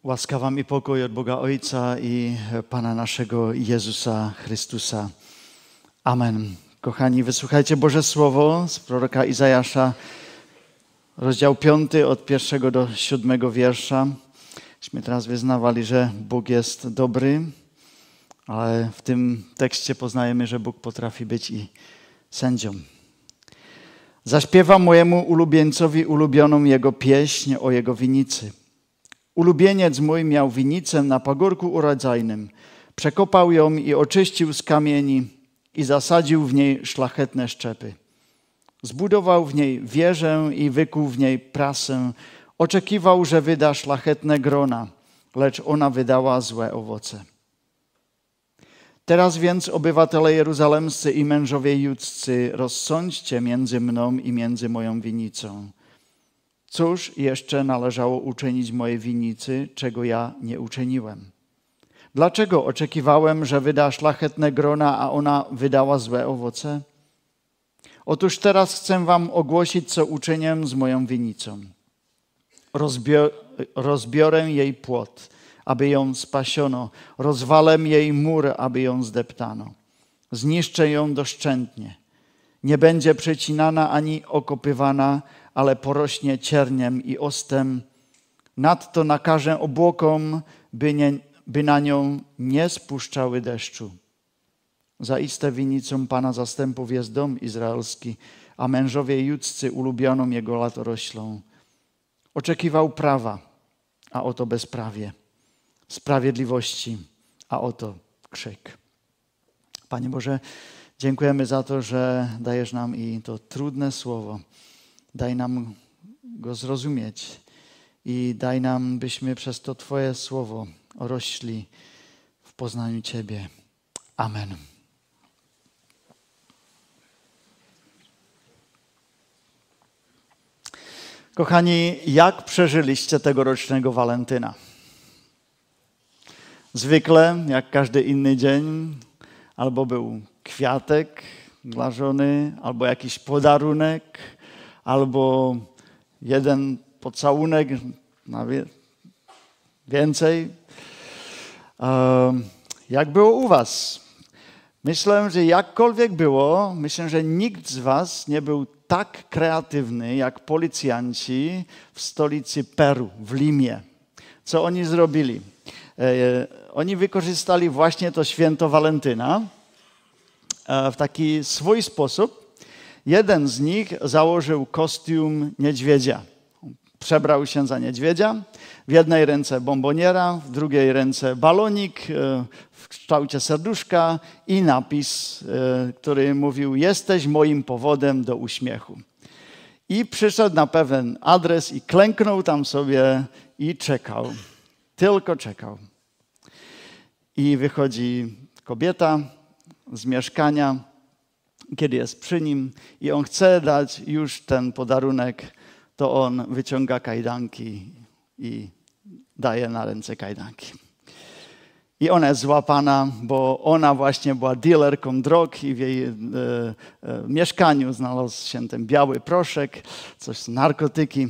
Łaska wam i pokój od Boga Ojca i Pana naszego Jezusa Chrystusa. Amen. Kochani, wysłuchajcie Boże Słowo z proroka Izajasza, rozdział 5 od 1 do 7 wiersza. Myśmy teraz wyznawali, że Bóg jest dobry, ale w tym tekście poznajemy, że Bóg potrafi być i sędzią. Zaśpiewam mojemu ulubieńcowi ulubioną jego pieśń o jego winicy. Ulubieniec mój miał winicę na pagórku urodzajnym. Przekopał ją i oczyścił z kamieni i zasadził w niej szlachetne szczepy. Zbudował w niej wieżę i wykuł w niej prasę. Oczekiwał, że wyda szlachetne grona, lecz ona wydała złe owoce. Teraz więc, obywatele jeruzalemscy i mężowie judzcy, rozsądźcie między mną i między moją winicą. Cóż jeszcze należało uczynić mojej winicy, czego ja nie uczyniłem? Dlaczego oczekiwałem, że wyda szlachetne grona, a ona wydała złe owoce? Otóż teraz chcę wam ogłosić, co uczynię z moją winicą. Rozbiorę jej płot, aby ją spasiono. Rozwalę jej mur, aby ją zdeptano. Zniszczę ją doszczętnie. Nie będzie przecinana ani okopywana, ale porośnie cierniem i ostem. Nadto nakażę obłokom, by na nią nie spuszczały deszczu. Zaiste winicą Pana zastępów jest dom izraelski, a mężowie judzcy ulubioną jego latoroślą. Oczekiwał prawa, a oto bezprawie. Sprawiedliwości, a oto krzyk. Panie Boże, dziękujemy za to, że dajesz nam i to trudne słowo. Daj nam go zrozumieć i daj nam, byśmy przez to Twoje słowo rośli w poznaniu Ciebie. Amen. Kochani, jak przeżyliście tegorocznego Walentyna? Zwykle, jak każdy inny dzień, albo był kwiatek dla żony, albo jakiś podarunek, albo jeden pocałunek, więcej. Jak było u was? Myślę, że jakkolwiek było, myślę, że nikt z was nie był tak kreatywny jak policjanci w stolicy Peru, w Limie. Co oni zrobili? Oni wykorzystali właśnie to święto Walentyna w taki swój sposób. Jeden z nich założył kostium niedźwiedzia. Przebrał się za niedźwiedzia. W jednej ręce bomboniera, w drugiej ręce balonik w kształcie serduszka i napis, który mówił: jesteś moim powodem do uśmiechu. I przyszedł na pewien adres i klęknął tam sobie i czekał. Tylko czekał. I wychodzi kobieta z mieszkania, kiedy jest przy nim i on chce dać już ten podarunek, to on wyciąga kajdanki i daje na ręce kajdanki. I ona jest złapana, bo ona właśnie była dealerką drog i w jej mieszkaniu znalazł się ten biały proszek, coś narkotyki.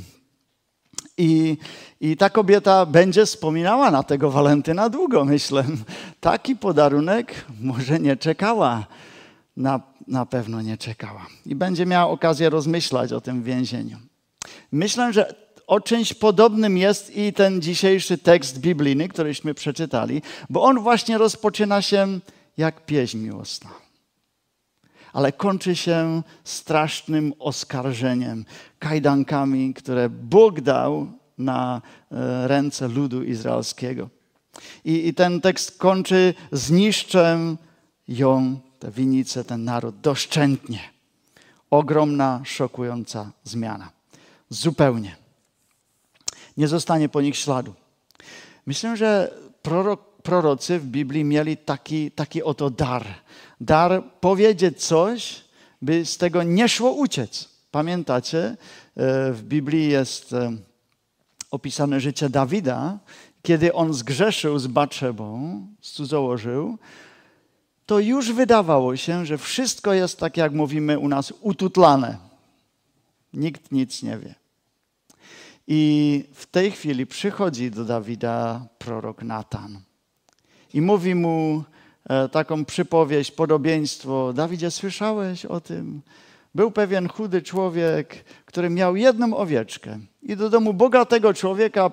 I ta kobieta będzie wspominała na tego Walentyna długo, myślę. Taki podarunek może nie czekała. Na pewno nie czekała. I będzie miała okazję rozmyślać o tym więzieniu. Myślę, że o czymś podobnym jest i ten dzisiejszy tekst biblijny, któryśmy przeczytali, bo on właśnie rozpoczyna się jak pieśń miłosna. Ale kończy się strasznym oskarżeniem, kajdankami, które Bóg dał na ręce ludu izraelskiego. I ten tekst kończy: zniszczę ją, tę winicę, ten naród, doszczętnie. Ogromna, szokująca zmiana. Zupełnie. Nie zostanie po nich śladu. Myślę, że prorocy w Biblii mieli taki oto dar. Dar powiedzieć coś, by z tego nie szło uciec. Pamiętacie, w Biblii jest opisane życie Dawida, kiedy on zgrzeszył z Batszebą, cudzołożył, to już wydawało się, że wszystko jest, tak jak mówimy u nas, ututlane. Nikt nic nie wie. I w tej chwili przychodzi do Dawida prorok Natan i mówi mu taką przypowieść, podobieństwo. Dawidzie, słyszałeś o tym? Był pewien chudy człowiek, który miał jedną owieczkę i do domu bogatego człowieka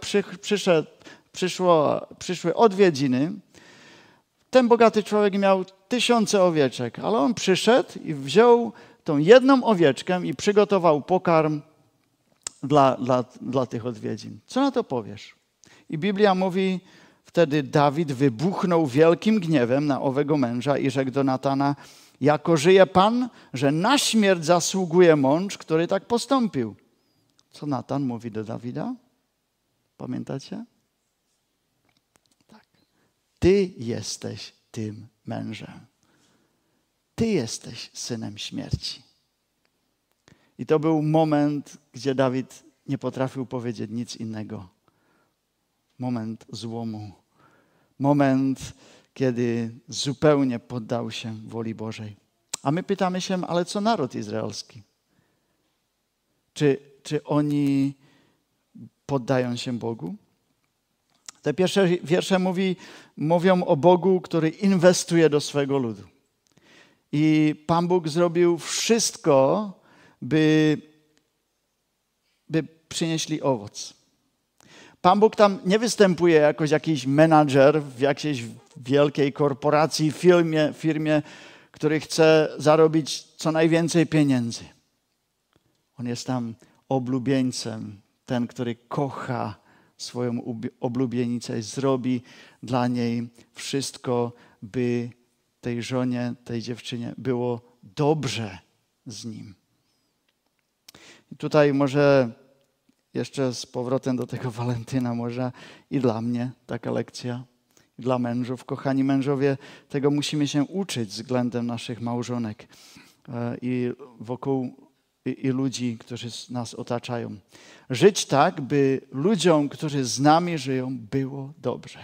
przyszły odwiedziny. Ten bogaty człowiek miał 1000 owieczek, ale on przyszedł i wziął tą jedną owieczkę i przygotował pokarm dla tych odwiedzin. Co na to powiesz? I Biblia mówi, wtedy Dawid wybuchnął wielkim gniewem na owego męża i rzekł do Natana, jako żyje Pan, że na śmierć zasługuje mąż, który tak postąpił. Co Natan mówi do Dawida? Pamiętacie? Tak. Ty jesteś tym mężem. Ty jesteś synem śmierci. I to był moment, gdzie Dawid nie potrafił powiedzieć nic innego. Moment złomu. Moment, kiedy zupełnie poddał się woli Bożej. A my pytamy się, ale co naród izraelski? Czy oni poddają się Bogu? Te pierwsze wiersze mówią o Bogu, który inwestuje do swego ludu. I Pan Bóg zrobił wszystko, by przynieśli owoc. Pan Bóg tam nie występuje jako jakiś menadżer w jakiejś wielkiej korporacji, firmie, który chce zarobić co najwięcej pieniędzy. On jest tam oblubieńcem, ten, który kocha swoją oblubienicę i zrobi dla niej wszystko, by tej żonie, tej dziewczynie było dobrze z nim. I tutaj może jeszcze z powrotem do tego Walentyna, może i dla mnie taka lekcja, i dla mężów. Kochani mężowie, tego musimy się uczyć względem naszych małżonek i wokół i ludzi, którzy nas otaczają. Żyć tak, by ludziom, którzy z nami żyją, było dobrze.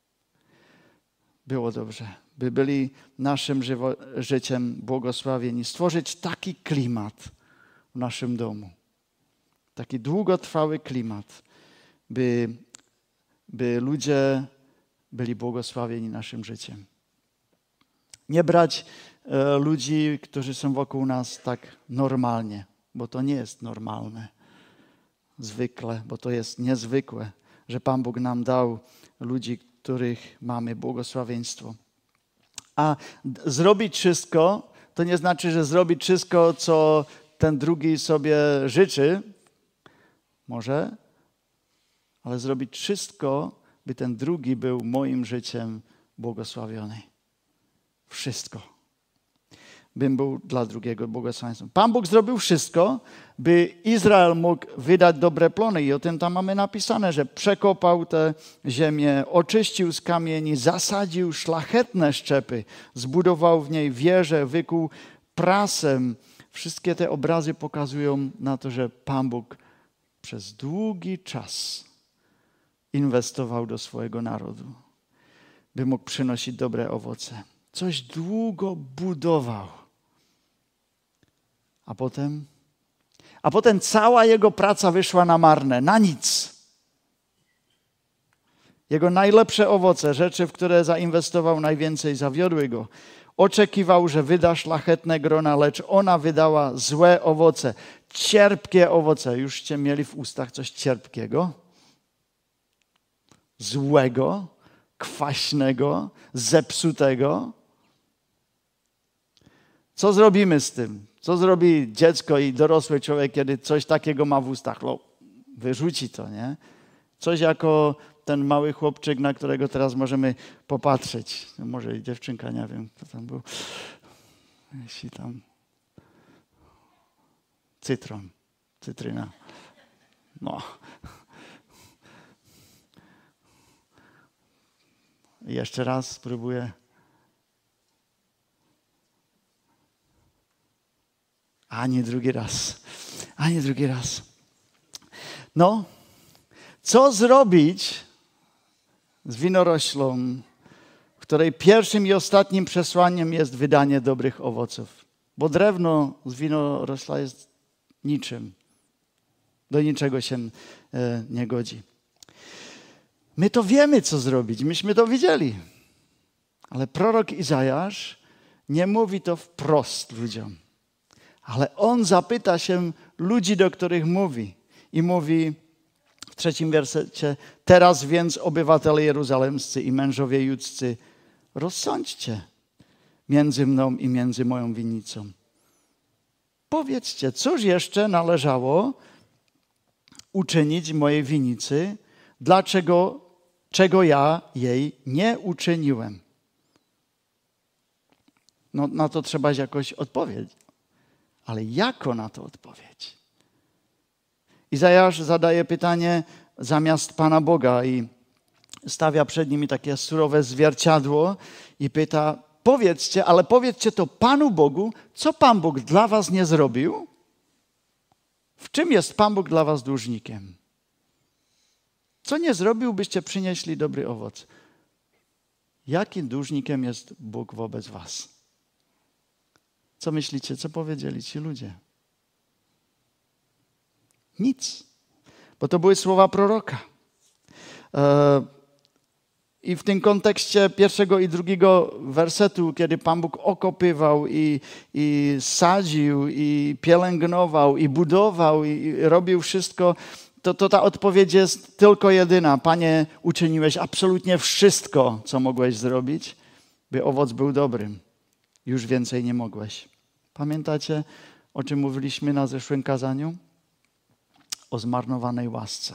Było dobrze. By byli naszym życiem błogosławieni. Stworzyć taki klimat w naszym domu. Taki długotrwały klimat, by ludzie byli błogosławieni naszym życiem. Nie brać ludzi, którzy są wokół nas tak normalnie, bo to nie jest normalne. Zwykle, bo to jest niezwykłe, że Pan Bóg nam dał ludzi, których mamy błogosławieństwo. A zrobić wszystko, to nie znaczy, że zrobić wszystko, co ten drugi sobie życzy, może, ale zrobić wszystko, by ten drugi był moim życiem błogosławiony. Wszystko. Bym był dla drugiego błogosławieństwem. Pan Bóg zrobił wszystko, by Izrael mógł wydać dobre plony. I o tym tam mamy napisane, że przekopał tę ziemię, oczyścił z kamieni, zasadził szlachetne szczepy, zbudował w niej wieże, wykuł prasem. Wszystkie te obrazy pokazują na to, że Pan Bóg przez długi czas inwestował do swojego narodu, by mógł przynosić dobre owoce. Coś długo budował. A potem cała jego praca wyszła na marne, na nic. Jego najlepsze owoce, rzeczy, w które zainwestował najwięcej, zawiodły go. Oczekiwał, że wyda szlachetne grona, lecz ona wydała złe owoce, cierpkie owoce. Jużście mieli w ustach coś cierpkiego? Złego, kwaśnego, zepsutego? Co zrobimy z tym? Co zrobi dziecko i dorosły człowiek, kiedy coś takiego ma w ustach? No, wyrzuci to, nie? Coś jako ten mały chłopczyk, na którego teraz możemy popatrzeć. No może i dziewczynka, nie wiem, kto tam był. Jeśli tam... Cytryna. No. I jeszcze raz spróbuję. Ani drugi raz. No, co zrobić z winoroślą, której pierwszym i ostatnim przesłaniem jest wydanie dobrych owoców? Bo drewno z winorośla jest niczym. Do niczego się nie godzi. My to wiemy, co zrobić. Myśmy to widzieli. Ale prorok Izajasz nie mówi to wprost ludziom. Ale on zapyta się ludzi, do których mówi. I mówi w 3 wersecie: teraz więc obywatele jeruzalemscy i mężowie judzcy, rozsądźcie między mną i między moją winnicą. Powiedzcie, cóż jeszcze należało uczynić mojej winnicy, czego ja jej nie uczyniłem. No, na to trzeba jakoś odpowiedzieć. Ale jako na to odpowiedź? Izajasz zadaje pytanie zamiast Pana Boga i stawia przed nimi takie surowe zwierciadło i pyta: powiedzcie, ale powiedzcie to Panu Bogu, co Pan Bóg dla was nie zrobił? W czym jest Pan Bóg dla was dłużnikiem? Co nie zrobił, byście przynieśli dobry owoc? Jakim dłużnikiem jest Bóg wobec was? Co myślicie, co powiedzieli ci ludzie? Nic. Bo to były słowa proroka. I w tym kontekście 1 i 2 wersetu, kiedy Pan Bóg okopywał i sadził, i pielęgnował, i budował, i robił wszystko, to ta odpowiedź jest tylko jedyna. Panie, uczyniłeś absolutnie wszystko, co mogłeś zrobić, by owoc był dobrym. Już więcej nie mogłeś. Pamiętacie, o czym mówiliśmy na zeszłym kazaniu? O zmarnowanej łasce.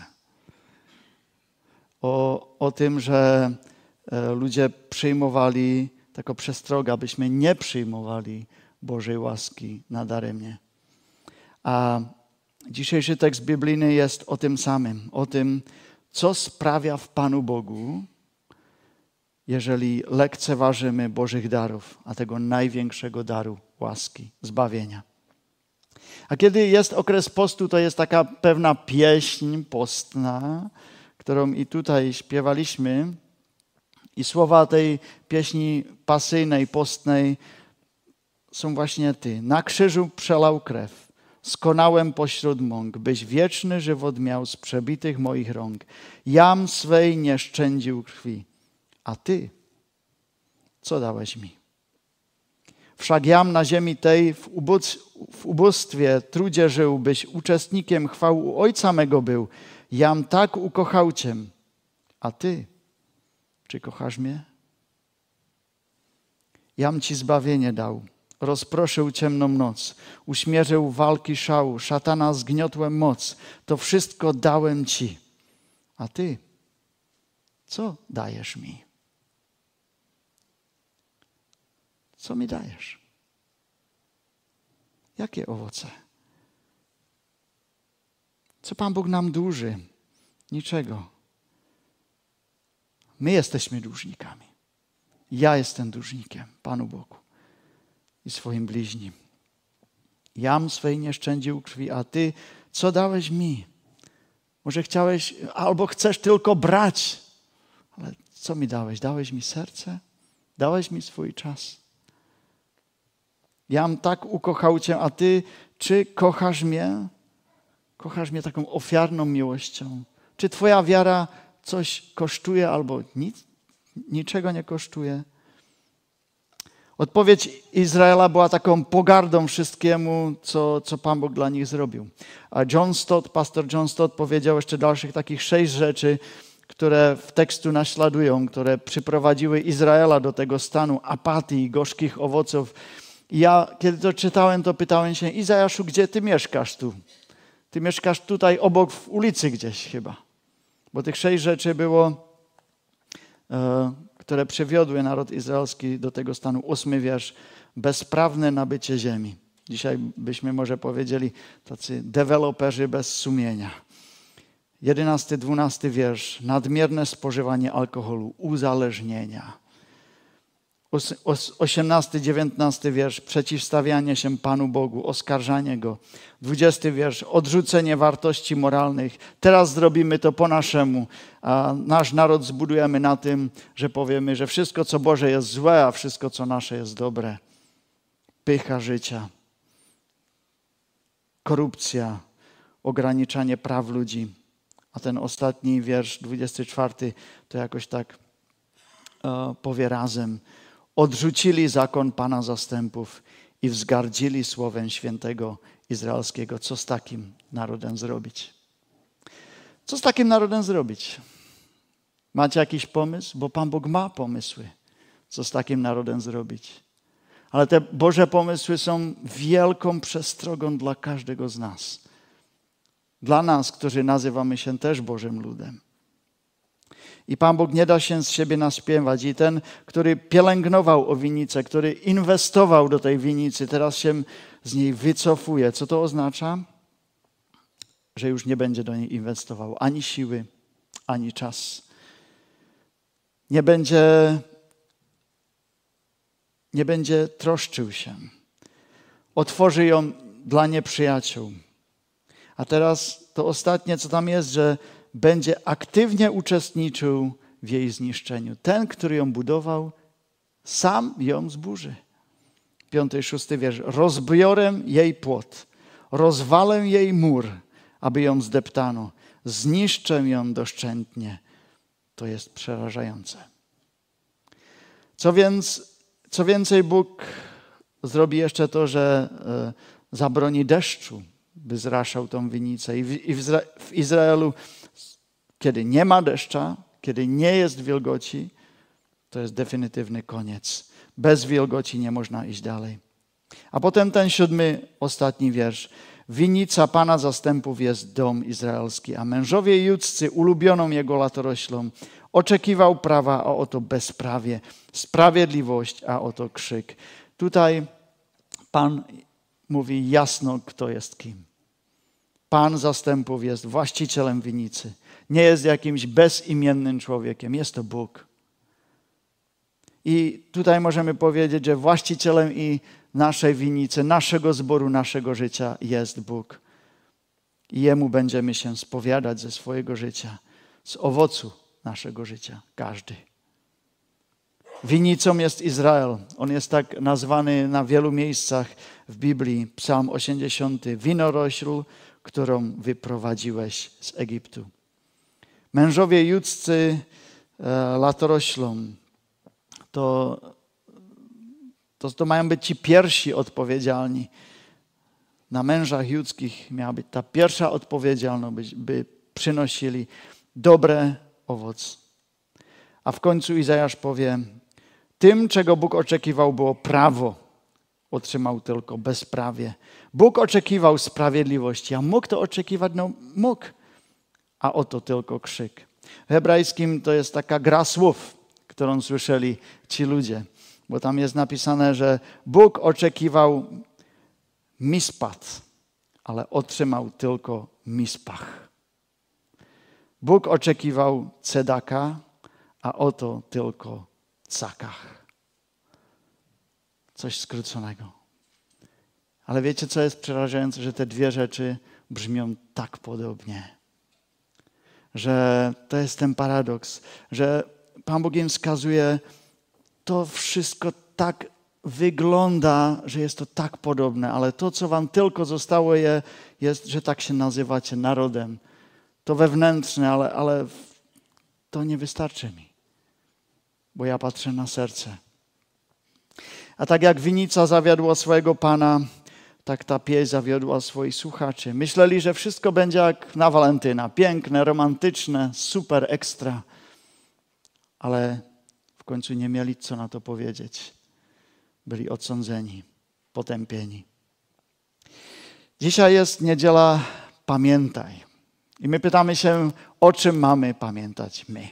O tym, że ludzie przyjmowali, taka przestroga, abyśmy nie przyjmowali Bożej łaski nadaremnie. A dzisiejszy tekst biblijny jest o tym samym. O tym, co sprawia w Panu Bogu, jeżeli lekceważymy Bożych darów, a tego największego daru łaski, zbawienia. A kiedy jest okres postu, to jest taka pewna pieśń postna, którą i tutaj śpiewaliśmy. I słowa tej pieśni pasyjnej, postnej są właśnie Ty. Na krzyżu przelał krew, skonałem pośród mąk, byś wieczny żywot miał z przebitych moich rąk. Jam swej nie szczędził krwi, a Ty, co dałeś mi? Wszak jam na ziemi tej w ubóstwie, trudzie żył, byś uczestnikiem chwał u Ojca mego był. Jam tak ukochał Cię, a Ty, czy kochasz mnie? Jam Ci zbawienie dał, rozproszył ciemną noc, uśmierzył walki szału, szatana zgniotłem moc. To wszystko dałem Ci, a Ty, co dajesz mi? Co mi dajesz? Jakie owoce? Co Pan Bóg nam dłuży? Niczego. My jesteśmy dłużnikami. Ja jestem dłużnikiem Panu Bogu i swoim bliźnim. Jam swej nie szczędził krwi, a Ty, co dałeś mi? Może chciałeś, albo chcesz tylko brać. Ale co mi dałeś? Dałeś mi serce? Dałeś mi swój czas? Jam tak ukochał Cię, a Ty, czy kochasz mnie? Kochasz mnie taką ofiarną miłością? Czy Twoja wiara coś kosztuje albo niczego nie kosztuje? Odpowiedź Izraela była taką pogardą wszystkiemu, co Pan Bóg dla nich zrobił. A pastor John Stott powiedział jeszcze dalszych takich 6 rzeczy, które w tekstu naśladują, które przyprowadziły Izraela do tego stanu apatii, gorzkich owoców. I ja, kiedy to czytałem, to pytałem się: Izajaszu, gdzie Ty mieszkasz tu? Ty mieszkasz tutaj obok w ulicy gdzieś chyba. Bo tych 6 rzeczy było, które przywiodły naród izraelski do tego stanu. 8 wiersz. Bezprawne nabycie ziemi. Dzisiaj byśmy może powiedzieli tacy deweloperzy bez sumienia. 11, 12 wiersz. Nadmierne spożywanie alkoholu, uzależnienia. 18, 19 wiersz. Przeciwstawianie się Panu Bogu, oskarżanie Go. 20 wiersz. Odrzucenie wartości moralnych. Teraz zrobimy to po naszemu. A nasz naród zbudujemy na tym, że powiemy, że wszystko, co Boże, jest złe, a wszystko, co nasze, jest dobre. Pycha życia. Korupcja. Ograniczanie praw ludzi. A ten ostatni wiersz, 24, to jakoś tak powie razem. Odrzucili zakon Pana zastępów i wzgardzili słowem świętego izraelskiego. Co z takim narodem zrobić? Co z takim narodem zrobić? Macie jakiś pomysł? Bo Pan Bóg ma pomysły, co z takim narodem zrobić. Ale te Boże pomysły są wielką przestrogą dla każdego z nas. Dla nas, którzy nazywamy się też Bożym ludem. I Pan Bóg nie da się z siebie naśpiewać. I ten, który pielęgnował owinicę, który inwestował do tej winicy, teraz się z niej wycofuje. Co to oznacza? Że już nie będzie do niej inwestował ani siły, ani czas. Nie będzie troszczył się. Otworzy ją dla nieprzyjaciół. A teraz to ostatnie, co tam jest, że będzie aktywnie uczestniczył w jej zniszczeniu. Ten, który ją budował, sam ją zburzy. 5 i 6 wiersz. Rozbiorę jej płot, rozwalę jej mur, aby ją zdeptano. Zniszczę ją doszczętnie. To jest przerażające. Co więcej, Bóg zrobi jeszcze to, że zabroni deszczu, by zraszał tą winnicę. I w Izraelu, kiedy nie ma deszcza, kiedy nie jest wilgoci, to jest definitywny koniec. Bez wilgoci nie można iść dalej. A potem ten 7, ostatni wiersz. Winnica Pana zastępów jest dom izraelski, a mężowie judzcy ulubioną jego latoroślą. Oczekiwał prawa, a oto bezprawie. Sprawiedliwość, a oto krzyk. Tutaj Pan mówi jasno, kto jest kim. Pan zastępów jest właścicielem winnicy. Nie jest jakimś bezimiennym człowiekiem. Jest to Bóg. I tutaj możemy powiedzieć, że właścicielem i naszej winnicy, naszego zboru, naszego życia jest Bóg. I Jemu będziemy się spowiadać ze swojego życia, z owocu naszego życia, każdy. Winnicą jest Izrael. On jest tak nazwany na wielu miejscach w Biblii. Psalm 80. Winorośl, którą wyprowadziłeś z Egiptu. Mężowie judzcy latoroślą. To mają być ci pierwsi odpowiedzialni. Na mężach judzkich miała być ta pierwsza odpowiedzialność, by przynosili dobre owoc. A w końcu Izajasz powie, tym, czego Bóg oczekiwał, było prawo. Otrzymał tylko bezprawie. Bóg oczekiwał sprawiedliwości, a mógł to oczekiwać? No mógł. A oto tylko krzyk. W hebrajskim to jest taka gra słów, którą słyszeli ci ludzie. Bo tam jest napisane, że Bóg oczekiwał mispat, ale otrzymał tylko mispach. Bóg oczekiwał cedaka, a oto tylko cakach. Coś skróconego. Ale wiecie, co jest przerażające? Że te dwie rzeczy brzmią tak podobnie. Że to jest ten paradoks, że Pan Bóg im wskazuje, to wszystko tak wygląda, że jest to tak podobne, ale to, co wam tylko zostało, jest, że tak się nazywacie narodem. To wewnętrzne, ale to nie wystarczy mi, bo ja patrzę na serce. A tak jak winnica zawiodła swojego Pana, tak ta pieśń zawiodła swoich słuchaczy. Myśleli, że wszystko będzie jak na Walentyna. Piękne, romantyczne, super, ekstra. Ale w końcu nie mieli co na to powiedzieć. Byli odsądzeni, potępieni. Dzisiaj jest niedziela Pamiętaj. I my pytamy się, o czym mamy pamiętać my.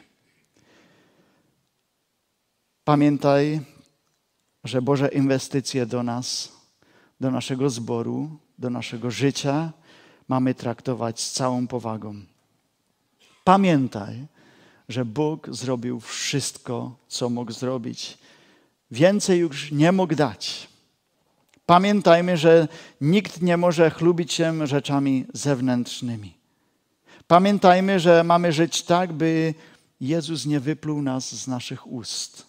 Pamiętaj, że Boże inwestycje do nas, do naszego zboru, do naszego życia mamy traktować z całą powagą. Pamiętaj, że Bóg zrobił wszystko, co mógł zrobić. Więcej już nie mógł dać. Pamiętajmy, że nikt nie może chlubić się rzeczami zewnętrznymi. Pamiętajmy, że mamy żyć tak, by Jezus nie wypluł nas z naszych ust.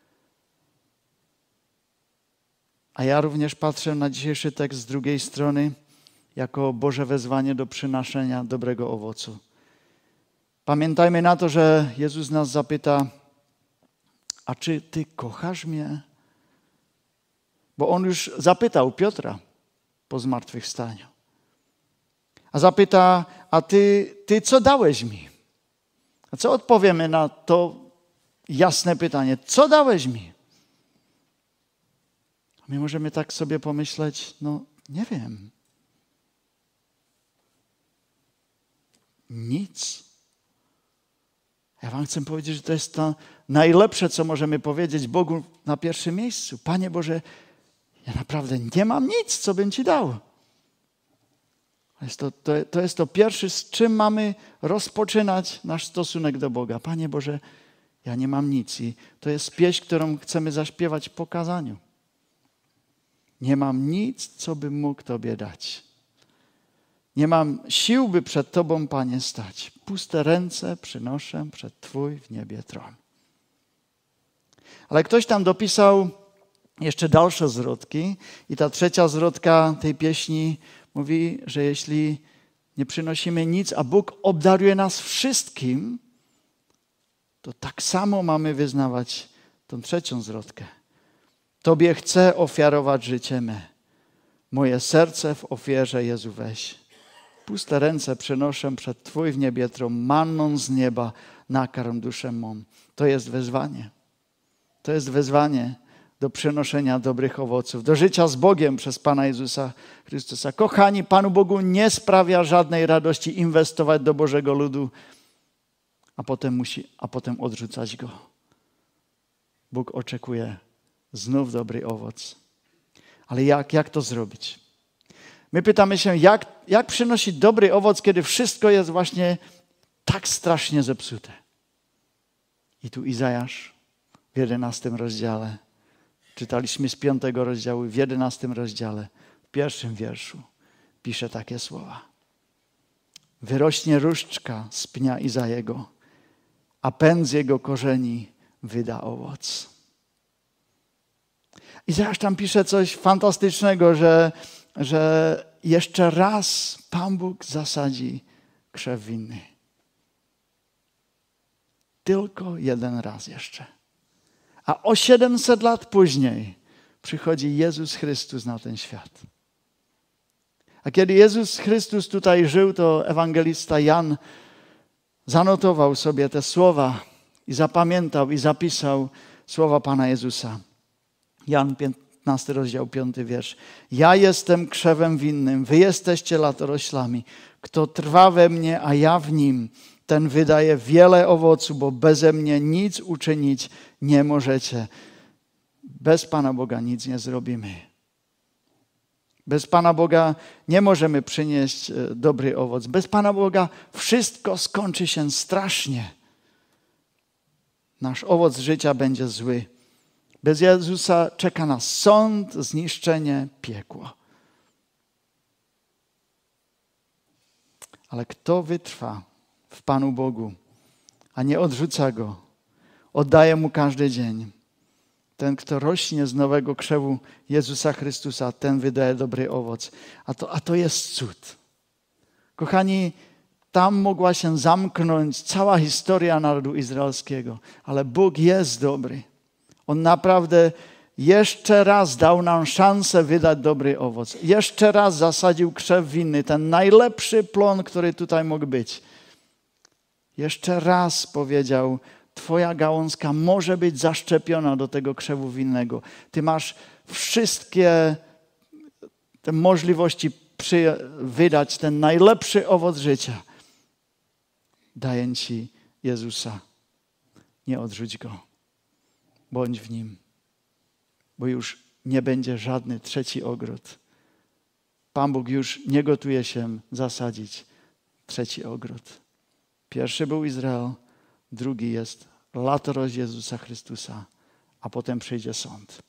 A ja również patrzę na dzisiejszy tekst z drugiej strony jako Boże wezwanie do przynoszenia dobrego owocu. Pamiętajmy na to, że Jezus nas zapyta, a czy ty kochasz mnie? Bo on już zapytał Piotra po zmartwychwstaniu. A zapyta, a ty co dałeś mi? A co odpowiemy na to jasne pytanie? Co dałeś mi? A my możemy tak sobie pomyśleć, no nie wiem. Nic. Ja wam chcę powiedzieć, że to jest to najlepsze, co możemy powiedzieć Bogu na pierwszym miejscu. Panie Boże, ja naprawdę nie mam nic, co bym Ci dał. To jest to pierwsze, z czym mamy rozpoczynać nasz stosunek do Boga. Panie Boże, ja nie mam nic. I to jest pieśń, którą chcemy zaśpiewać po kazaniu. Nie mam nic, co bym mógł Tobie dać. Nie mam sił, by przed Tobą, Panie, stać. Puste ręce przynoszę przed Twój w niebie tron. Ale ktoś tam dopisał jeszcze dalsze zwrotki i ta trzecia zwrotka tej pieśni mówi, że jeśli nie przynosimy nic, a Bóg obdaruje nas wszystkim, to tak samo mamy wyznawać tą trzecią zwrotkę. Tobie chcę ofiarować życie me. Moje serce w ofierze, Jezu, weź. Puste ręce przynoszę przed Twój w niebie tron, manną z nieba nakarm duszę mą. To jest wezwanie. To jest wezwanie do przynoszenia dobrych owoców, do życia z Bogiem przez Pana Jezusa Chrystusa. Kochani, Panu Bogu nie sprawia żadnej radości inwestować do Bożego ludu, a potem odrzucać go. Bóg oczekuje znów dobry owoc. Ale jak to zrobić? My pytamy się, jak przynosić dobry owoc, kiedy wszystko jest właśnie tak strasznie zepsute. I tu Izajasz w 11 rozdziale, czytaliśmy z 5 rozdziału, w 11 rozdziale, w 1 wierszu pisze takie słowa. Wyrośnie różdżka z pnia Izajego, a pęd z jego korzeni wyda owoc. Izajasz tam pisze coś fantastycznego, że jeszcze raz Pan Bóg zasadzi krzew winny. Tylko jeden raz jeszcze. A o 700 lat później przychodzi Jezus Chrystus na ten świat. A kiedy Jezus Chrystus tutaj żył, to ewangelista Jan zanotował sobie te słowa i zapamiętał i zapisał słowa Pana Jezusa. Jan 15 rozdział 5 wiersz. Ja jestem krzewem winnym, wy jesteście latoroślami. Kto trwa we mnie, a ja w nim, ten wydaje wiele owocu, bo beze mnie nic uczynić nie możecie. Bez Pana Boga nic nie zrobimy. Bez Pana Boga nie możemy przynieść dobry owoc. Bez Pana Boga wszystko skończy się strasznie. Nasz owoc życia będzie zły. Bez Jezusa czeka nas sąd, zniszczenie, piekło. Ale kto wytrwa w Panu Bogu, a nie odrzuca Go, oddaje Mu każdy dzień. Ten, kto rośnie z nowego krzewu Jezusa Chrystusa, ten wydaje dobry owoc. A to jest cud. Kochani, tam mogła się zamknąć cała historia narodu izraelskiego, ale Bóg jest dobry. On naprawdę jeszcze raz dał nam szansę wydać dobry owoc. Jeszcze raz zasadził krzew winny, ten najlepszy plon, który tutaj mógł być. Jeszcze raz powiedział, Twoja gałązka może być zaszczepiona do tego krzewu winnego. Ty masz wszystkie te możliwości wydać ten najlepszy owoc życia. Daję Ci Jezusa. Nie odrzuć Go. Bądź w Nim. Bo już nie będzie żadny trzeci ogród. Pan Bóg już nie gotuje się zasadzić trzeci ogród. Pierwszy był Izrael, drugi jest latorość Jezusa Chrystusa, a potem przyjdzie sąd.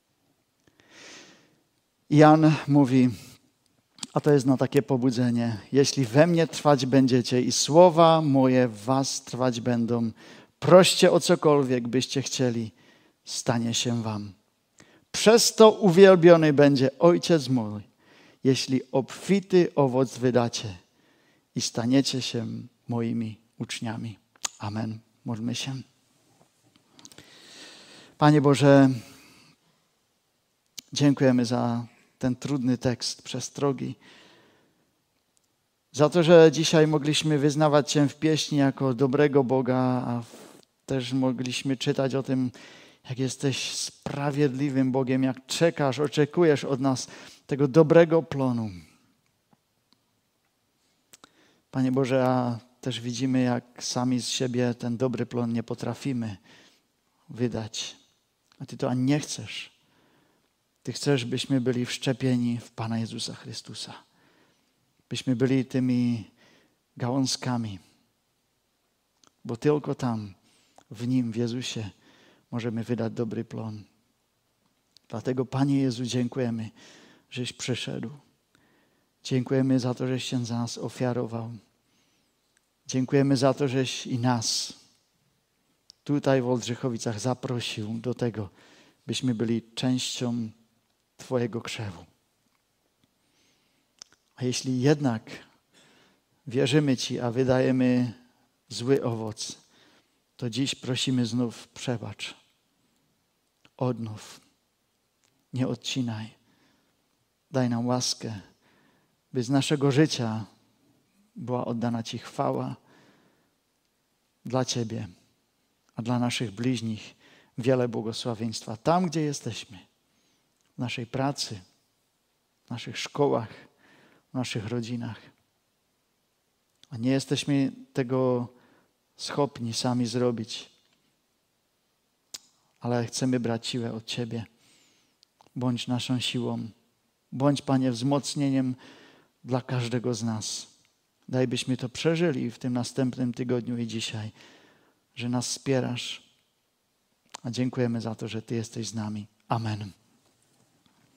Jan mówi, a to jest na takie pobudzenie, jeśli we mnie trwać będziecie i słowa moje w was trwać będą, proście o cokolwiek byście chcieli, stanie się wam. Przez to uwielbiony będzie Ojciec mój, jeśli obfity owoc wydacie i staniecie się moimi uczniami. Amen. Módlmy się. Panie Boże, dziękujemy za ten trudny tekst przestrogi. Za to, że dzisiaj mogliśmy wyznawać Cię w pieśni jako dobrego Boga, a też mogliśmy czytać o tym, jak jesteś sprawiedliwym Bogiem, jak czekasz, oczekujesz od nas tego dobrego plonu. Panie Boże, a też widzimy, jak sami z siebie ten dobry plon nie potrafimy wydać. A Ty to ani nie chcesz. Ty chcesz, byśmy byli wszczepieni w Pana Jezusa Chrystusa. Byśmy byli tymi gałązkami. Bo tylko tam, w Nim, w Jezusie, możemy wydać dobry plon. Dlatego, Panie Jezu, dziękujemy, żeś przyszedł. Dziękujemy za to, żeś się za nas ofiarował. Dziękujemy za to, żeś i nas tutaj w Oldrzychowicach zaprosił do tego, byśmy byli częścią Twojego krzewu. A jeśli jednak wierzymy Ci, a wydajemy zły owoc, to dziś prosimy znów przebacz. Odnów. Nie odcinaj. Daj nam łaskę, by z naszego życia była oddana Ci chwała dla Ciebie, a dla naszych bliźnich wiele błogosławieństwa. Tam, gdzie jesteśmy, w naszej pracy, w naszych szkołach, w naszych rodzinach. A nie jesteśmy tego schopni sami zrobić, ale chcemy brać siłę od Ciebie. Bądź naszą siłą. Bądź, Panie, wzmocnieniem dla każdego z nas. Daj, byśmy to przeżyli w tym następnym tygodniu i dzisiaj, że nas wspierasz. A dziękujemy za to, że Ty jesteś z nami. Amen.